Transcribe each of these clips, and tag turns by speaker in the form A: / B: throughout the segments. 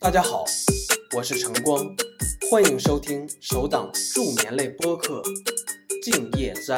A: 大家好，我是晨光，欢迎收听首档助眠类播客《静夜斋》。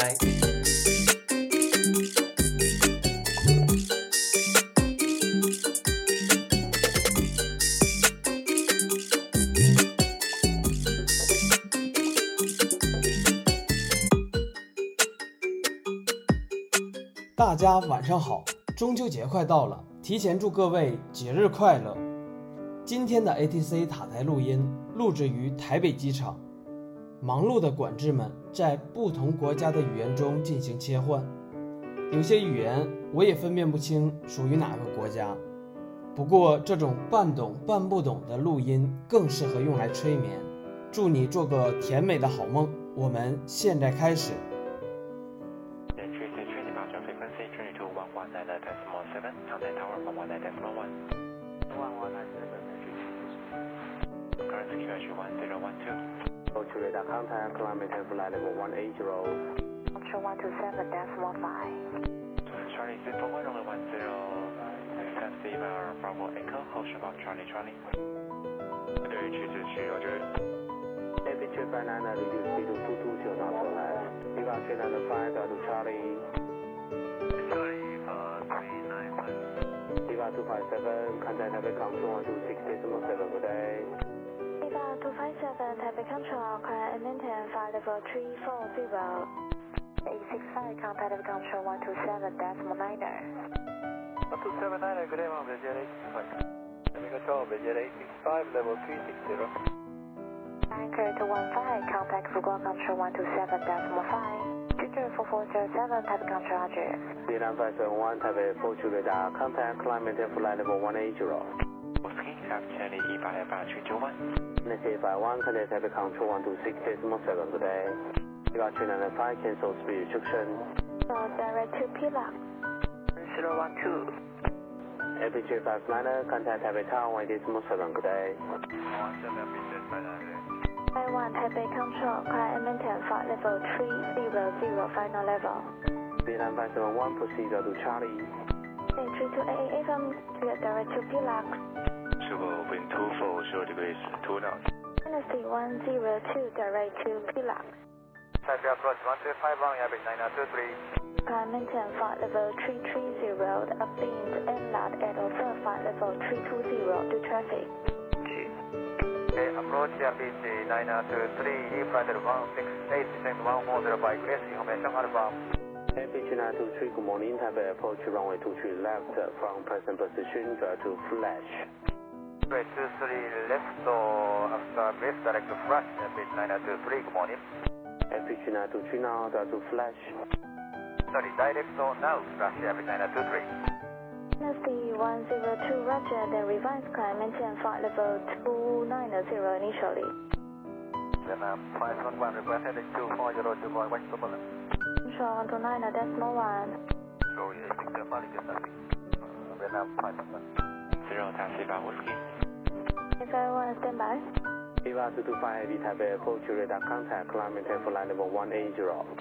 A: 大家晚上好，中秋节快到了，提前祝各位节日快乐。今天的 ATC 塔台录音录制于台北机场，忙碌的管制们在不同国家的语言中进行切换，有些语言我也分辨不清属于哪个国家。不过这种半懂半不懂的录音更适合用来催眠。祝你做个甜美的好梦，我们现在开始。
B: Radar contact, kilometer flight level 180.
C: Control 127.15.
D: Charlie 341 only 10, taxi by Bravo Echo, hold about Charlie. 对，去指区Roger.
B: Aperture 59, reduce speed to 220 knots or less. Departure number 5, to Charlie.
D: Charlie 395.
B: Depart 257, contact Taipei control 126.7, good day.
C: Depart 257, Taipei Control, climb and maintain flight level 340. 865, contact Taipei Control 127.9.
D: 127.9, good day, Mom, Jet 865. Taipei Control, Jet 865, level 360.
C: Anchor to 15, contact Fuguo Control 127.5. Future 4407, Taipei Control, Roger.
B: Vietnam 571, Taipei approach radar, contact kilometer flight level 180.
D: Whiskey, have Charlie 18321.
B: NSA 51, contact Taipei control 126.7, good day. Departure number 5, cancel speed restriction.
C: So direct to Pilar.
D: 012.
B: Aperture 59, contact Taipei Tower 1.7, good day.
C: 51, Taipei Control, climb and maintain flight level 300, final level.
B: Vietnam 571, proceed to Charlie.
C: 328 FM, direct to Pilar.
D: Sugar wind 240 degrees, 2 knots.
C: Dynasty 102, direct to Pilar.
D: Taipei approach 125, Yabic 923.
C: Climb maintain flight level 330, upwind inlet at observe flight level 320 to traffic.
D: Okay, approach Yabic 923, flight level 168, descend 1405, clear information Alpha.
B: Aperture 923, good morning, Taipei approach runway 23 left from present position, drive to flash.
D: Right, 23 left, so after brief, direct to flash, Yabic 923, good morning.
B: Aperture 923 now, drive to flash.
D: Sorry, direct, so now, flash Yabic 923.
C: Dynasty 102, Roger, then revise climb maintain flight level 290 initially.
D: Then 511, request heading 240, what's the problem?
C: Control 129.1.
D: So, yeah, 675, get nothing. Vietnam 511. 0, taxi by Whiskey.
C: Everyone stand by.
B: Viva 225 Heavy Taipei approach radar contact, kilometer flight level 180.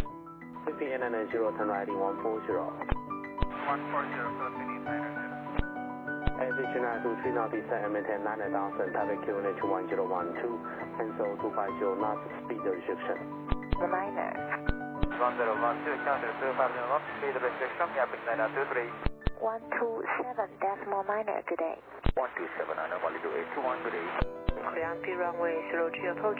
B: 15 turn right 140.
D: 140, Philippines 900.
B: Aperture 923 now descend and maintain 9,000, Taipei QNH 1012, cancel 250 knots, speed restriction.
C: Reminder.
D: 1012, counter 2501, speed restriction, Yabic 923.
C: 127.9, good day.
D: 127, I know, only do 821, good day.
C: Clear runway 03 approach.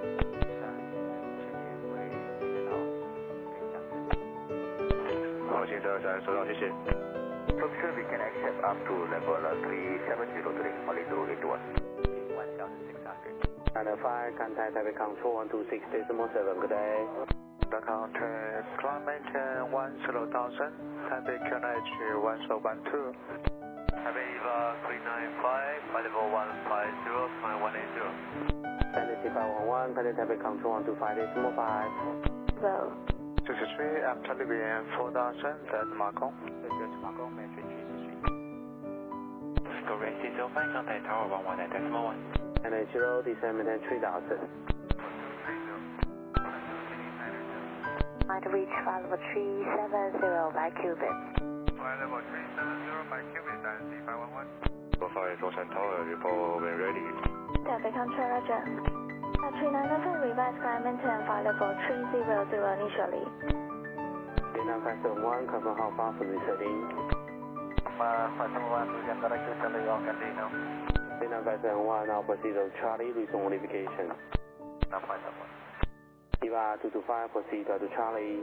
D: 好，请大家收到，谢谢。Function we can accept up to level 3703, only do 821. 1,600.
B: 905, contact Taipei control 126.7, good day.
D: The contact climate 10,000, Taipei QNH 1012. Taipei Eva 395, flight level 150, climb 180.
B: Dynasty 511, contact Taipei control 125.5.
C: Row.
D: 63, after Libyan 4000, that's Macon. Go rest 05, contact tower 119.1.
B: NH0, descend maintain 3000.
C: Might reach flight level 370 by Cuban.
D: Flight level 370 by Cuban, Dynasty 511. Go for it. Ocean Tower, report when ready.
C: Taipei Control, Roger. 3994 revised climb maintain flight level 300 initially.
B: 3971, confirm how far from this heading.
D: 571, we can direct to Charlie York and Dino.
B: 3971, now proceed to Charlie, resume modification. 125, proceed to Charlie.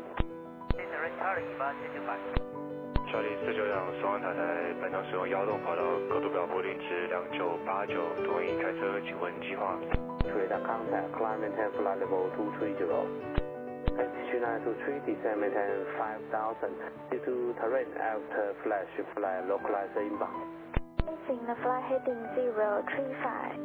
D: Charlie 492松安塔台，本场使用摇动跑道，高度表波定值2989，多引开车，请问计划。
B: Radar contact, climb maintain flight level 230. SQ923, descend maintain 5000. Due to terrain after flash, flight localizer inbound.
C: Facing the flight heading 035.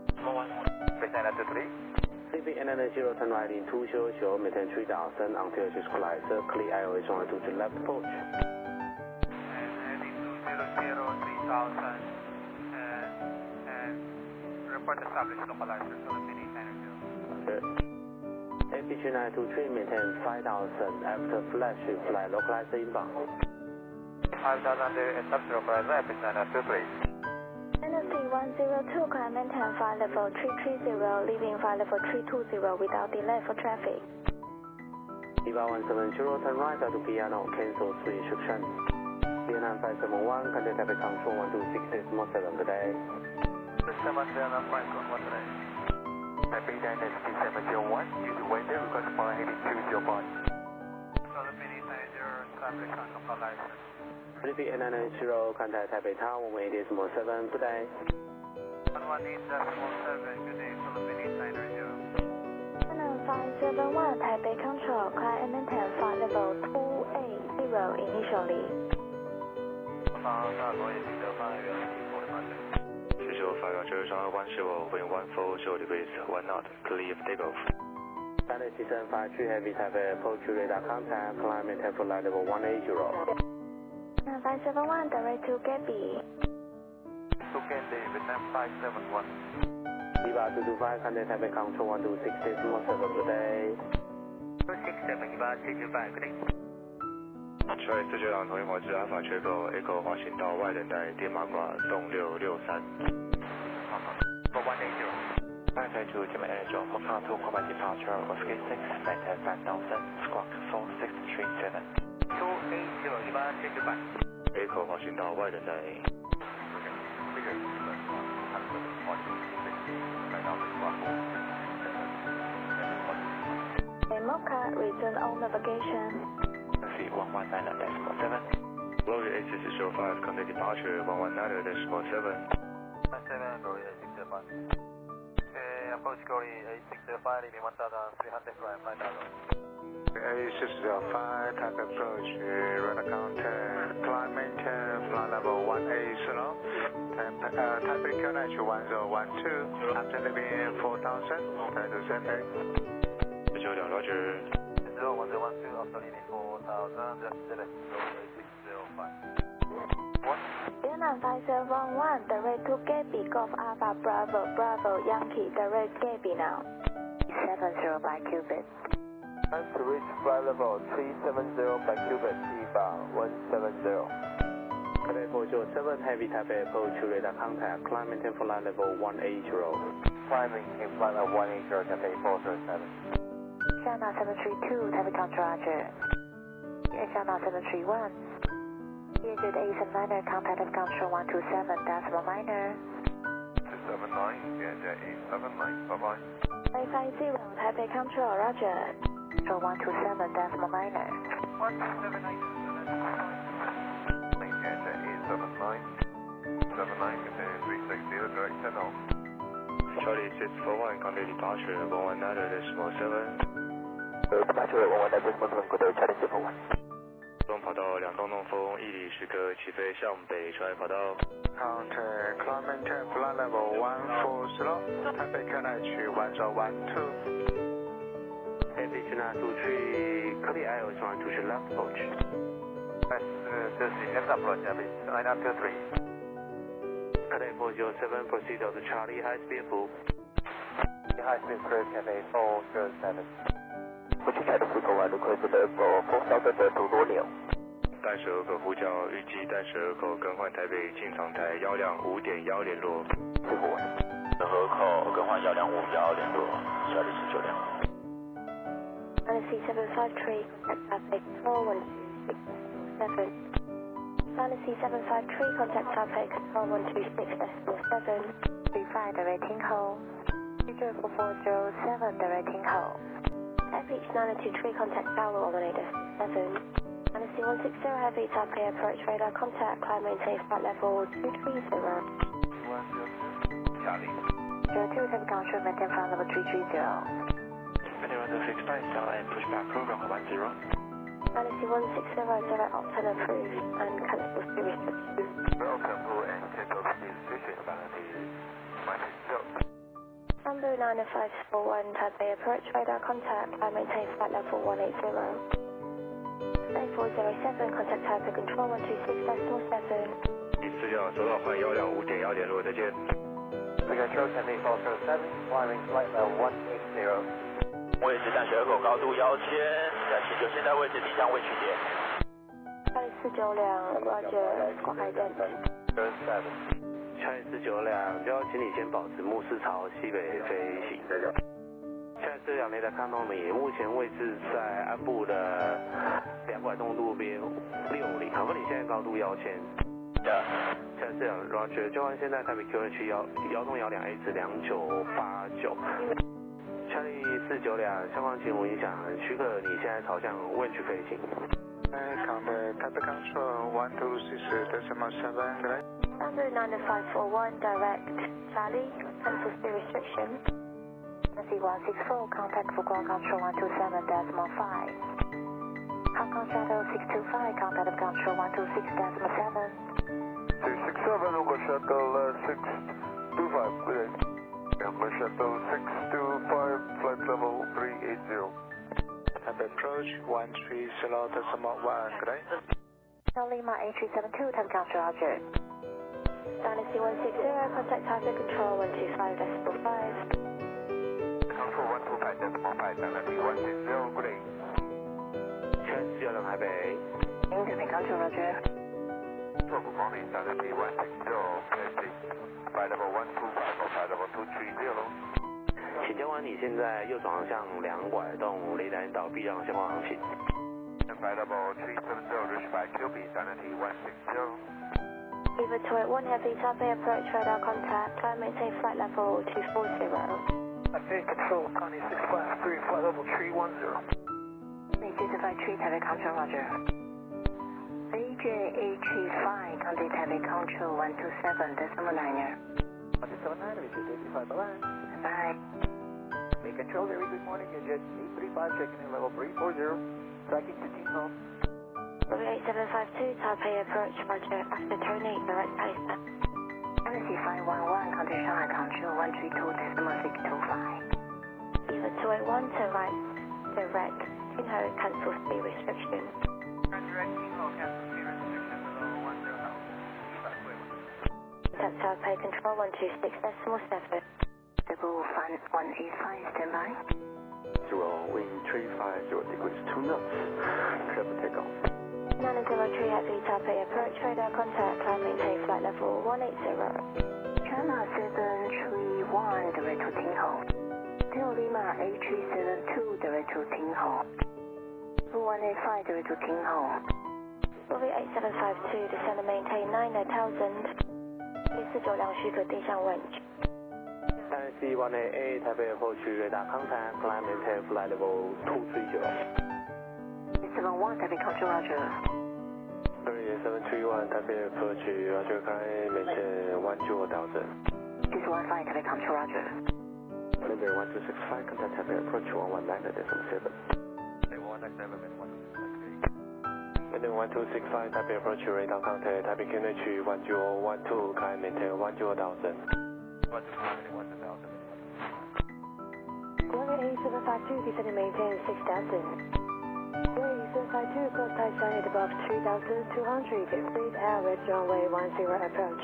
B: 3 0 turn right in 200, maintain 3000 until equalizer, clear IOS 112 to left approach.
E: Heading 200, 3000, and report established localizer, Philippines Energy.
B: SQ923, maintain 5000 after flash, flight localizer inbound.
E: 5000 there, establish localizer, SQ923.
C: NFC 102, climb maintain flight level 330, leaving flight level 320 without delay for traffic.
B: Viva 170, turn right to piano, cancel switch instruction. Vietnam 571, contact Taipei Control 126.7 today.
E: 701 today.
D: Taipei Dynamic 701, due to weather, request for heading 205.
E: Philippines Energy, establish localizer.
B: 3890, contact Taipei Tower 188.7 today.
E: 118.7, good day, Philippines Energy.
C: 571, Taipei Control, climb and maintain flight level 280 initially.
D: 45 170, wind 140 degrees, 1 knot, clear of takeoff.
B: Standard System 53, heavy Taipei approach radar contact, climb maintain flight level 180.
C: 571, direct to Gabby.
E: To Candy, Vietnam 571.
B: Viva 225, contact Taipei Control 126.7 today.
E: 267, Viva 225, good day.
D: Charlie 492同一模式 Alpha 缺口 Echo 滑行道外等待电马挂动663。
E: For 180.
D: 932 Gemini Energy, Hotel 2 combat departure, Oscar 6, maintain 5000, squawk 4637.
E: 280, Viva 225.
D: Echo 滑行道外等待。
C: Mocha, return on navigation.
D: 119.7. Glory A605, contact departure 119.7.
E: 7, Glory A605. Approach Glory A605, leaving 1300, climb 5000.
F: A605, type approach, radar contact, climb maintain, flight level 180, Taipei QNH 1012, after leaving 4000, turn to center.
D: 492 Roger.
E: 1012, after leaving 4000, left select, Glory A605.
C: Vietnam 571, direct to Gabby, Golf Alpha Bravo, Bravo Yankee, direct Gabby now. 70 by Cubit.
E: Time to reach flight level 370 by Cubit, EVA 170.
B: Taipei 407, heavy Taipei approach radar contact, climb maintain flight level 180.
E: Climbing in flight level 180, Taipei 407.
C: Channel 732, Taipei Control, Roger. Channel 731. Engine A79er, contact of Control 127, decimal minor.
E: 279, Engine A79, bye-bye.
C: 550, Taipei Control, Roger. Control 127, decimal minor.
E: 1279, Engine A79. 79, continue 360, direct 10 off.
D: Charlie 641, contact departure 119.7.
E: Departure 119.7, good day, Charlie 641.
D: 东跑道2洞东风，1里10个，起飞向北，穿越跑道。
F: Contact, climb maintain, flight level 140, Taipei QNH 1012.
B: SQ923, clear IOS 112 to left approach.
E: Left approach, Taipei 923.
B: Taipei 407, proceed to Charlie, high speed approve.
E: High speed cruise, Taipei 407.
B: 不去Taipei 441, request the airport 4000 to Romeo.
F: 待12口呼叫，预计待12口更换台北进场台125.1联络。
G: 河口更换125.1联络，下里49辆。
C: Fantasy 753, contact Taipei Control 126.7. Fantasy 753, contact Taipei Control 126.7. 35 directing hold. 30440 directing hold. Taipei 923, contact Tower 118.7. Fantasy 160, heavy Taipei approach radar contact, climb maintain flight level 230.
E: Charlie.
C: 02, Taipei Control, maintain flight level 330.
D: Maintain 165, cell and pushback program 10.
C: Fantasy 160, direct Octane approved and cancel speed restrictions.
E: Welcome to and cancel speed restriction, Vanity 160.
C: Bamboo 90541, Taipei approach radar contact, climb maintain flight level 180. 3407, contact Taipei Control 126.7.
F: 资料收到，换125.1联络，再见。
E: Control Taipei 407, climbing flight level 180.
G: 位置淡水河口高度1000，在19现在位置离降位取点。
C: 492 Roger， 广海站。
B: Charlie 492，就要请你先保持目视朝西北飞行。Charlie 492，雷达看到你，目前位置在安部的2拐洞路边60，可不你现在高度1000。Charlie 492 Roger， 交换现在台北 QH 1洞12A 至2989。Charlie 492，相关情况影响，许可你现在朝向 Winch 飞行。
F: Contact Taipei Control 126.7, good day.
C: Bamboo 90541, direct Charlie, cancel speed restriction. Fantasy 164, contact Fuguang Control 127.5. Hong Kong Shadow 625, contact Control 126.7.
E: 667, Longo Shuttle 625, good day. Longo Shuttle 625, flight level 380.
F: Taipei approach 130.1, good day.
C: Lima 8372, Taipei Control, Roger. Dynasty 160, contact Taipei Control 125.5.
E: Control 125.5, Dynasty 160, good day.
B: Charlie 492台北。
C: Taipei Control, Roger.
E: 12 morning, Dynasty 160, passing. Flight level 125, flight level 230.
B: 请交换你现在右转向2拐洞，雷达引导避让相关航行。
E: Flight level 370, reach by QB, Dynasty 160.
C: Beaver 281, heavy Taipei approach radar contact, climb maintain flight level 240.
E: Taipei Control, Connie 653, flight level 310.
C: 253, Taipei Control, Roger. AJ835, contact Taipei Control 127.9er.
E: 179, reach 85, bye-bye.
C: Bye.
E: May Control, very good morning, Jet 835, checking in level 340. Tracking to Team Home.
C: 8752, Taipei approach, Roger, after turn 8, direct Tyson. Fantasy 511, contact Shanghai Control 132.625. Beaver 281, turn right, direct, Tinho, cancel speed restriction.
E: Direct Team Home, cancel speed restriction below 10.
C: Contact Taipei Control 126.7. Double 185, stand by.
G: Wind 350 degrees 2 knots. Clear for takeoff.
C: 903 heavy Taipei approach radar contact, climb maintain flight level 180. China 731, direct to Tinho. Till Lima 8372, direct to Tinho. 185, direct to Tinho. Movie 8752, descend and maintain 9000. 492许可定向 Winch.
B: Dynasty 1AA, Taipei approach radar contact, climb maintain flight level 230.
C: 71, Taipei Control, Roger.
B: 731, Taipei approach, Roger, climb maintain 120,000.
C: 615, Taipei Control, Roger.
B: November 1265, contact Taipei approach 119.7. Maintain 1265, Taipei approach radar contact, Taipei QNH 1012, climb maintain 120,000.
C: 8752, descend and maintain 6000. 8752, cross Tyson at above 3200, speed average runway 10 approach.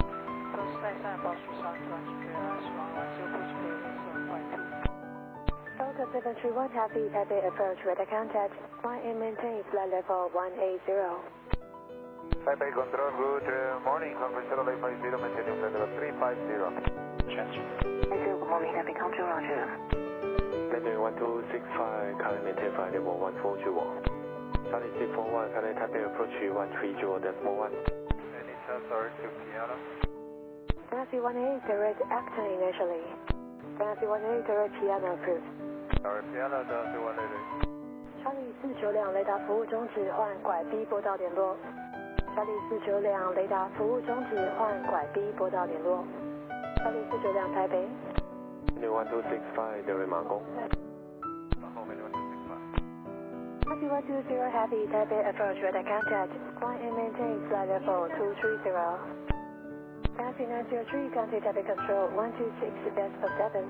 H: Cross Tyson above 3200, runway 10, push
C: Delta 731 Happy Taipei approach radar contact. Flight and maintain flight level 180.
F: Taipei control, good morning. Conference shuttle 850, maintaining flight level 350.
D: Transfer.
C: Good morning, Taipei control, roger.
G: Mandarin 1265, current maintain flight level 140. Charlie 641, current Taipei approach 130.1.
F: Any transfer to Piano?
C: Nancy 18 direct action initially. Nancy 18 direct piano approved.
F: Sorry, Piano, Nancy 18.
C: Charlie 492雷达服务终止，换拐 B 波道联络。Charlie 492雷达服务终止，换拐 B 波道联络。Charlie 492台北。
G: Mandarin 1265, 德瑞马公。
C: Nancy 120 Happy Taipei approach radar contact. Flight and maintain flight level 230. Nancy 903 contact Taipei control 126.7.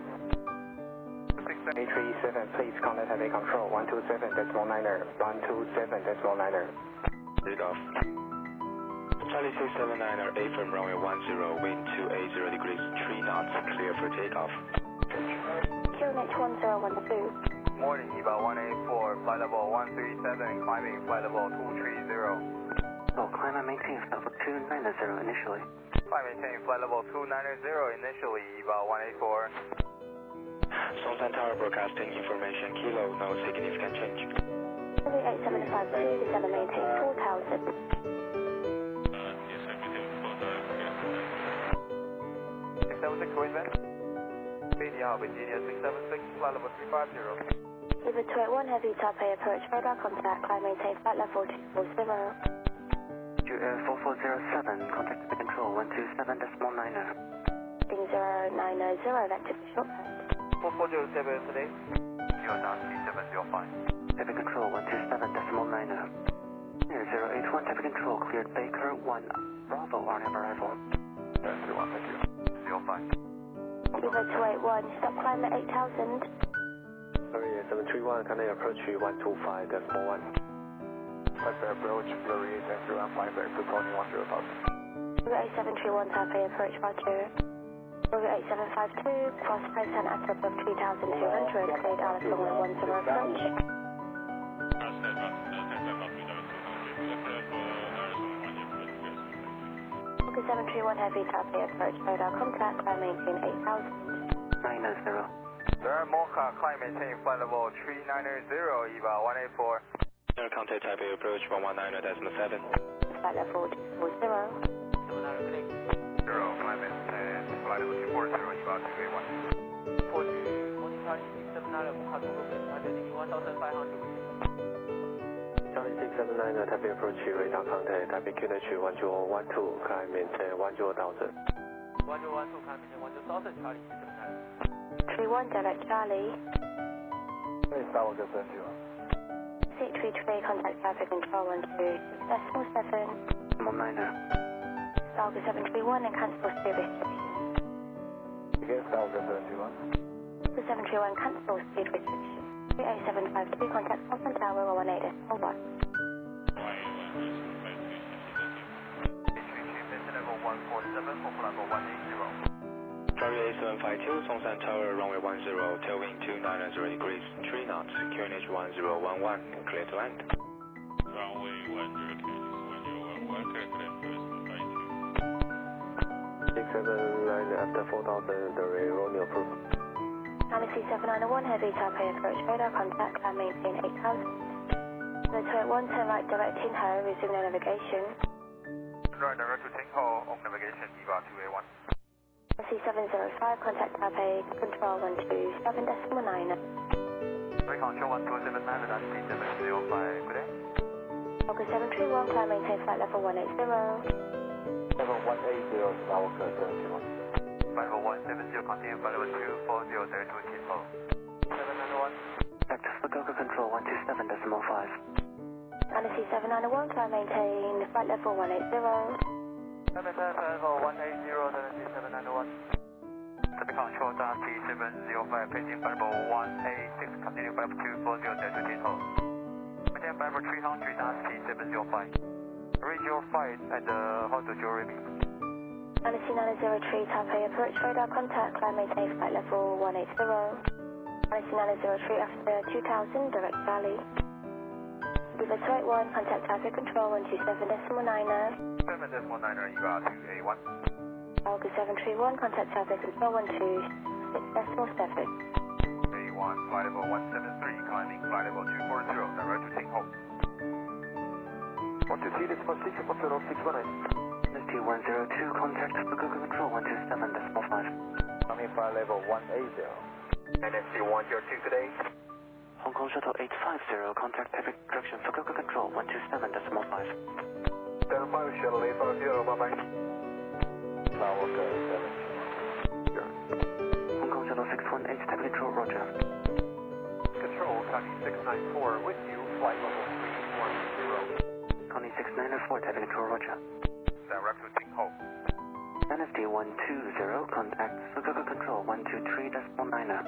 F: 837, please contact Taipei control 127.9er, 127.9er.
G: Lead off.
D: Charlie 679er, A from runway 10, wind 280 degrees, 3 knots, clear for takeoff.
C: QNH 1012.
F: Morning, EVA 184, flight level 137, climbing flight level 230.
C: Oh, climb and maintain flight level 290 initially.
F: Climb maintain flight level 290 initially, EVA 184.
D: Songsan Tower broadcasting information, kilo, no significant change.
C: Charlie 8752, descend and maintain 4000.
F: Virginia 676, flight level 350.
C: River 281 Heavy Taipei approach radar contact, climb maintain flight level 240.
H: Air 4407, contact the control 127.9er.
C: Heading 090, vector short.
F: 4407 today. 0.3705.
H: Taipei control 127.9er. Air 081 Taipei control cleared Baker 1 Bravo on arrival.
F: 31, thank you. 05.
C: River 281, stop climb at 8000.
G: Sorry, 731, current approach 125.1.
F: Taipei approach, Flurry 831, flying back to Tony 10,000.
C: River 8731 Taipei approach, roger. River 8752, cross present at above 3200, cleared Alice runway 10 approach. River 731 Heavy Taipei approach, radar contact, climb maintain 8000.
H: 990.
F: Sir, Mocha, climb maintain flight level 390, EVA 184.
D: Air contact Taipei approach 119.7.
C: Flight level 240.
F: 0, climb maintain flight level 240, EVA 281.
A: Morning Charlie 679 Mocha Togo, heading 1500.
G: Charlie 679, Taipei approach radar contact, Taipei QNH 1012, climb maintain 10,000.
A: 1012, climb maintain 10,000, Charlie 679.
C: 31 direct Charlie.
F: Hey, Star 71.
C: 633 contact traffic control 126.7.
H: 9er.
C: Star 731 and cancel speed restriction.
F: Again, Star 71.
C: 731 cancel speed restriction. 38752 contact Songsan Tower 118.1.
F: Level 147 for flight level 180.
D: Charlie 8752, Songsan Tower, runway 10, tailwind 290 degrees, 3 knots, QNH 1011, clear to land.
I: Runway 10, QNH 1011, clear to land first,
G: 679, after 4,000, the Romeo approved.
C: Galaxy 791 Heavy Taipei approach radar contact, climb maintain 8000. The 281 turn right directing her, resume the navigation.
F: Right direct to Ting Ho, on navigation, EVA 281.
C: Galaxy 705 contact Taipei control 127.9.
F: Control 1279, that's T705, good day.
C: Focus 731, climb maintain flight level 180.
F: Level 180, Star 71. Flight level 170, continue flight level 240, there to Ting Ho. 791.
H: Back to Fukuoka control 127.5.
C: Galaxy 791, climb maintain flight level 180.
F: Level 180, Galaxy 791. Taipei control, T705, paging flight level 186, continue flight level 240, there to Ting Ho. Maintain flight level 300, T705. Reach your flight at the Hotel Jewelry.
C: Galaxy 903 Taipei approach radar contact, climb maintain flight level 180. 903 after 2000, direct Charlie. Viva 281, contact traffic control 127.90.
E: 7.90, EVA 2A1.
C: Alga 731, contact traffic control 126.7.
E: A1, flight level 173, climbing flight level 240, direct to Ting Ho. 123.6, 10619.
H: NST 102, contact Fukuoka control 127.5.
E: Climbing flight level 180. NST 102 today.
H: Hong Kong Shuttle 850, contact Pacific Direction Fukuoka control 127.5.
E: Stand by, Shuttle 850, bye-bye. Tower 7.
H: Hong Kong Shuttle 618, Pacific control, roger.
E: Control, Connie 694 with you, flight level 310.
H: Connie 694, Pacific control, roger.
E: Direct to Ting Ho.
H: NST 120, contact Fukuoka control 123.90.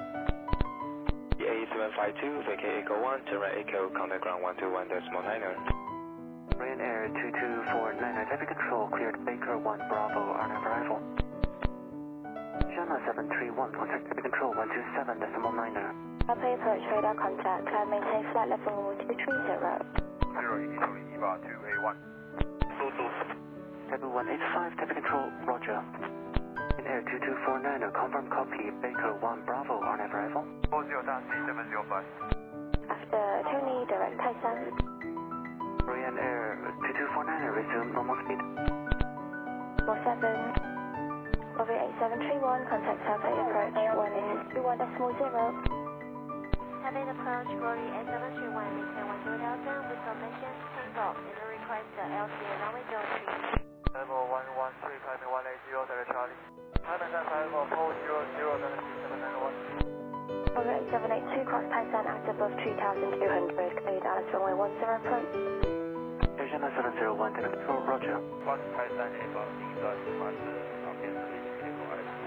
G: A752, vacate Echo 1, turn right Echo, contact ground 121.90.
H: Ryanair 2249, traffic control, cleared Baker 1, Bravo, RNAV arrival. China 731, contact traffic control 127.90.
C: Taipei approach radar contact, climb maintain flight level 230.
E: 0 initially, EVA 2A1.
H: Taipei 185, traffic control, roger. Ryanair 2249, confirm copy, Baker 1, Bravo, RNAV arrival.
E: 40 taxi 705.
C: After Tony, direct Taisan.
H: Ryanair 2249, resume normal speed.
C: 47. Over 8731, contact Taipei approach 121.0.
J: Taipei approach, Glory 8731, maintain 10,000 with submission, takeoff, and request the LCA runway 03.
F: Level 113, climbing 180, direct Charlie. Climbing at level 400, direct 791.
C: Over 8782, cross Taisan at above 3200, cleared Alice runway 10 approach.
H: China 701, traffic control, roger.
E: Cross Taisan above 1旁边是飞机结构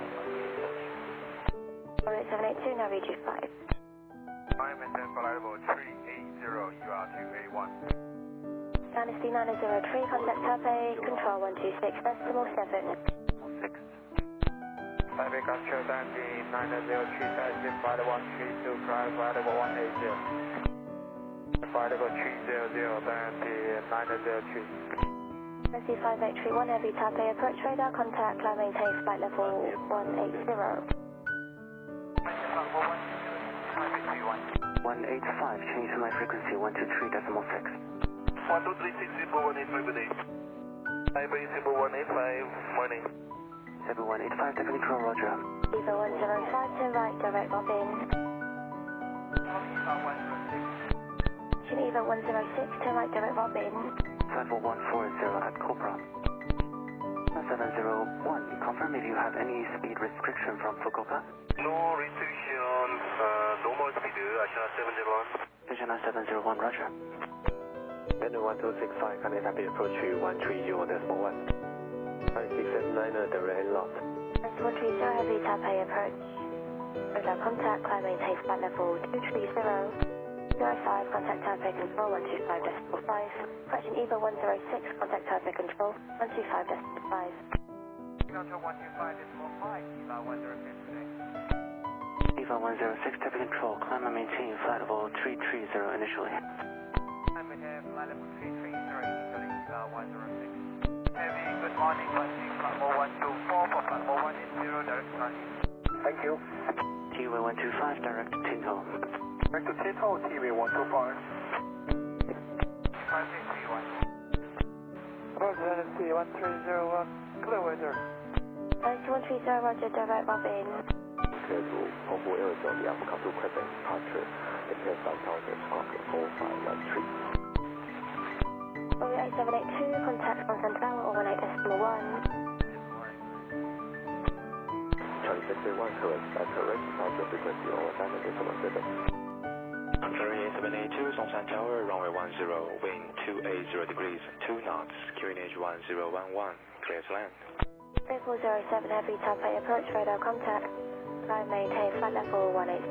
C: Over 8782, now reach 5.
E: Climb maintain flight level 380, EVA 2A1.
C: Dynasty 903, contact Taipei, control 126.7.
H: 6.
F: Taipei control Dynasty 903, taxi flight 132, climb flight level 180. Flight level 300, Dynasty 903.
C: Dynasty 5831, heavy Taipei approach radar contact, climb maintain flight level 180.
H: 185, change to my frequency 123.6.
E: 123.6, 185 today. Taipei 185, morning.
H: 7185, traffic control, roger.
C: Eva 105 to right, direct Robin. Geneva 106 to right, direct Robin.
H: 54140 at Cobra. 701, confirm if you have any speed restriction from Fukuoka.
E: No restriction, normal speed, Ashina 701.
H: China 701, roger.
G: Bend 1265, connect Taipei approach 130.1. 5679, direct and locked.
C: 130, heavy Taipei approach. Radar contact, climb maintain flight level 230. 05, contact Taipei control 125.5. Correction Eva 106, contact Taipei control 125.5.
F: Control 125.5, EVA 106 today.
H: EVA 106, traffic control, climb and maintain flight level 330 initially.
F: Climb maintain flight level 330 initially, EVA 106. Heavy, good morning, 124 for flight level 180, direct Charlie.
E: Thank you.
H: TWA 125, direct Tinho.
E: Direct to Ting Ho, TV 125.
F: 5631. Approach Dynasty 1301, clear weather.
C: Dynasty 130, roger, direct Robin.
G: Clear to Hongbu Aerosol, the Alpha to Quebec departure, maintain 5,000, Spark 4513.
C: Over 8782, contact Quantum Tower or 18.1.
G: Charlie 681, correct, departure frequency over 7.7. Contrary 8782, Songshan Tower, runway 10, wind 280 degrees, 2 knots, QNH 1011, clear to land.
C: 3407, heavy Taipei approach radar contact. Climb maintain flight level 180.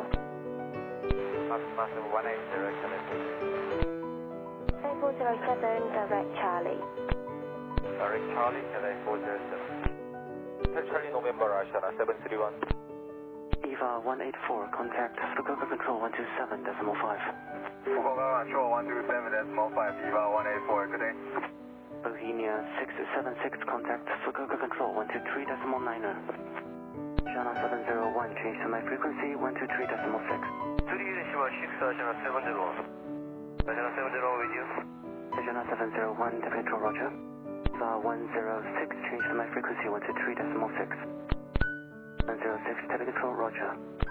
F: Massive 180, connected.
C: 3407, direct Charlie.
F: Direct Charlie, LA 407. Charlie November, Ashana 731.
H: EVA 184, contact Fukuoka Control 127.5.
E: Fukuoka Control 127.5, EVA 184, good day.
H: Bohemia 676, contact Fukuoka Control 123.9. China 701, change to my frequency 123.6.
E: China 701 with you.
H: China 701, Traffic Control, roger. EVA 106, change to my frequency 123.6. 106, Traffic Control, roger.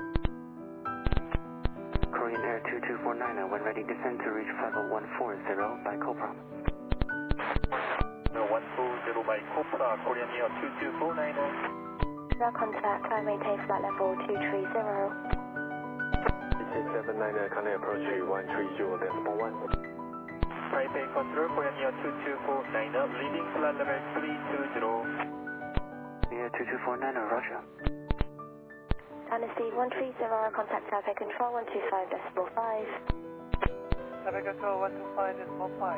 H: Korean Air 2249, when ready, descend to reach 50140 by Cobra.
E: 140 by Cobra, Korean Air 2249.
C: Now contact, climb maintain flight level 230.
G: 799, kindly approach 130.1.
E: Taipei Control, Korean Air 2249, leading flight level 320.
H: Air 2249, roger.
C: Dynasty 130, contact Taipei Control 125.5.
F: Taipei Control 125.5.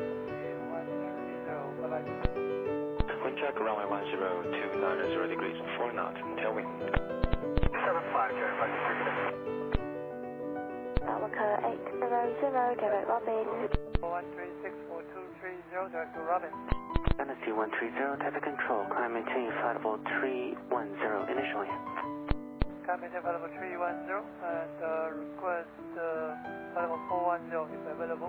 F: 130, bye-bye.
G: Wind check, runway 10, 290 degrees, 4 knots, tailwind.
E: 75, Jerry,
C: Bawaka 800, direct Robin.
F: 1364230, direct to Robin.
H: Dynasty 130, Taipei Control, climb maintain flight level 310 initially.
F: Climb maintain flight level 310, and request flight level 410 if available.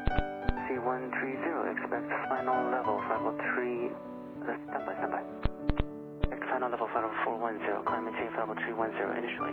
H: C130, expect final level flight level 3, standby. Expect final level flight level 410, climb maintain flight level 310 initially.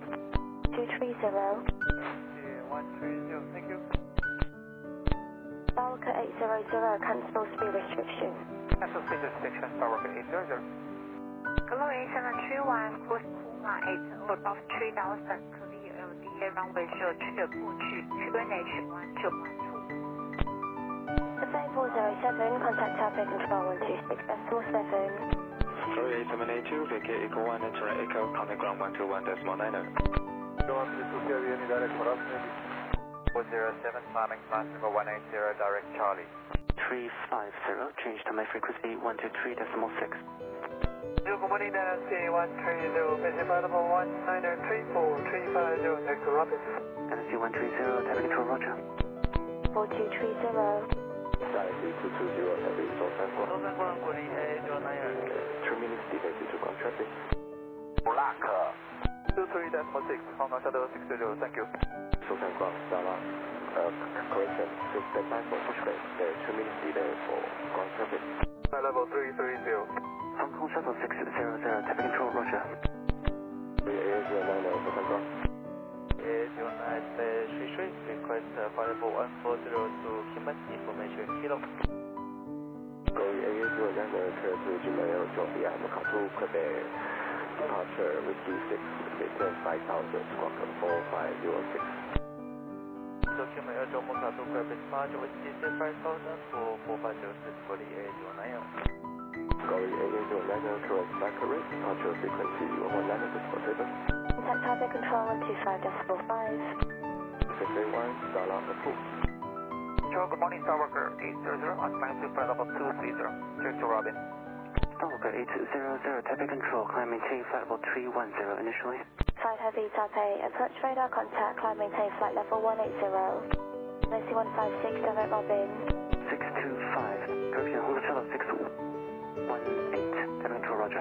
C: 230.
F: 130, thank you.
C: Bawaka 800, cancel speed restriction.
F: Cancel speed restriction, Bawaka 800.
J: Glory 731, cruise Puma 8 above 3000, clear LDA runway 03 过去 QNH 1212.
C: Survey 407, contact Taipei Control 126.47.
G: Glory 8782, vacate Echo 1, enter Echo, contact ground 121.90.
E: Go on to the Sierra Union, direct for us, maybe. 407, climbing flight level 180, direct Charlie.
H: 350, change to my frequency 123.6.
F: Good morning, Dynasty 130, basic flight level 1934350, direct to Robin.
H: Dynasty 130, Taipei Control, roger.
C: 4230.
G: Dynasty 220, heavy, Sosan
F: Ground, Korean Air 809.
G: 2 minutes delay due to ground traffic.
E: Black.
F: 23.6, Hong Kong Shuttle 620, thank you.
G: Sosan ground, Dala, correction, please stand by for pushback. There is 2 minutes delay for ground traffic.
F: Flight level 330.
H: Hong Kong Shuttle 600, Taipei Control, roger.
G: AA090, Sosan ground.
F: AA09, request flight level 140 to Kinmen, information kilo.
G: Glory AA090, clear to Gmail, Jovia, Makatu, Quebec. Departure Whiskey 6, maintain 5000, squawker 4506.
F: Document Air Jomo Katu Quebec departure Whiskey 6 5000 for 4506, Glory AA090.
G: Glory AA090, correct accurate, departure frequency 119.7.
C: Contact Taipei Control 125.45.
G: 681, Dala approved.
F: Good morning, Starwalker 800, on climb to flight level 230, direct to Robin.
H: Starwalker 800, Taipei Control, climb maintain flight level 310 initially.
C: 5 Heavy Taipei, approach radar contact, climb maintain flight level 180. Dynasty 156, direct Robin.
H: 625, correction, Hong Kong Shuttle 618, Taipei Control, roger.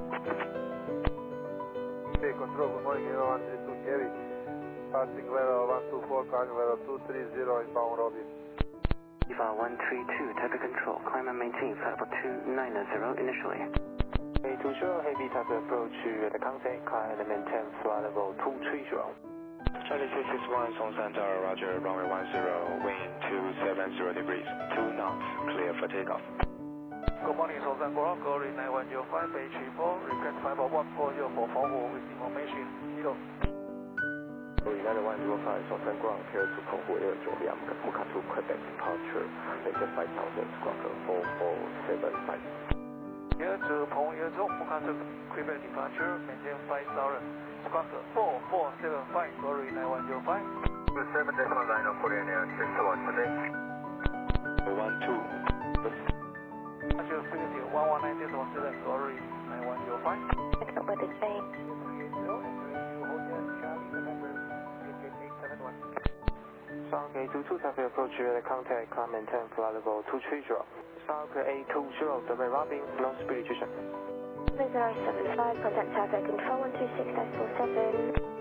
E: Taipei Control, good morning, Eva 132 Heavy. Passing level 124, calling level 230, inbound Robin.
H: EVA 132, Taipei Control, climb and maintain flight level 290 initially.
G: To show heavy Taipei approach at the contact, climb and maintain flight level 230. Charlie 661, Songshan Tower, roger, runway 10, wind 270 degrees, 2 knots, clear for takeoff.
F: Good morning, Songshan Ground, Glory 9105, Bay 34, request flight level 140 for forward with information kilo.
G: Glory 9105, Songshan Ground, clear to Konghu Air Jovia, Makatu, Quebec, departure, maintain 5000, squawker 4475.
F: Here to Peng Yezhou, Makatu, Quebec departure, maintain 5000, squawker 4475, Glory 9105.
E: 27.9 Korean Air 61, today.
G: 12.
F: Actual frequency 119.7, Glory 9105.
C: Pick up with the change.
H: South A22 traffic approach radar contact, climb maintain flight level 230. South A20, direct Robin, no speed reduction.
C: 075, contact traffic control 126.47.